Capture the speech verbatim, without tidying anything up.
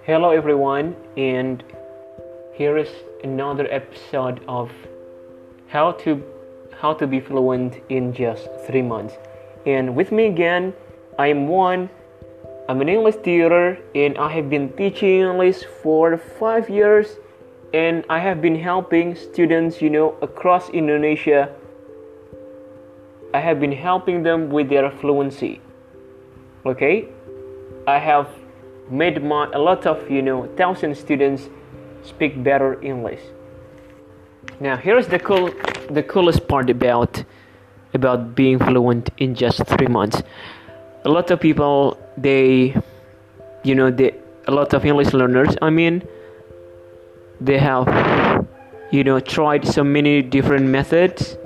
Hello everyone, and here is another episode of how to how to be fluent in just three months. And with me again, I am Juan. I'm an English tutor, and I have been teaching English for five years, and I have been helping students, you know, across Indonesia. I have been helping them with their fluency. Okay, I have made my, a lot of you know thousand students speak better English. Now here's the cool the coolest part about about being fluent in just three months. A lot of people they you know they a lot of English learners I mean they have you know tried so many different methods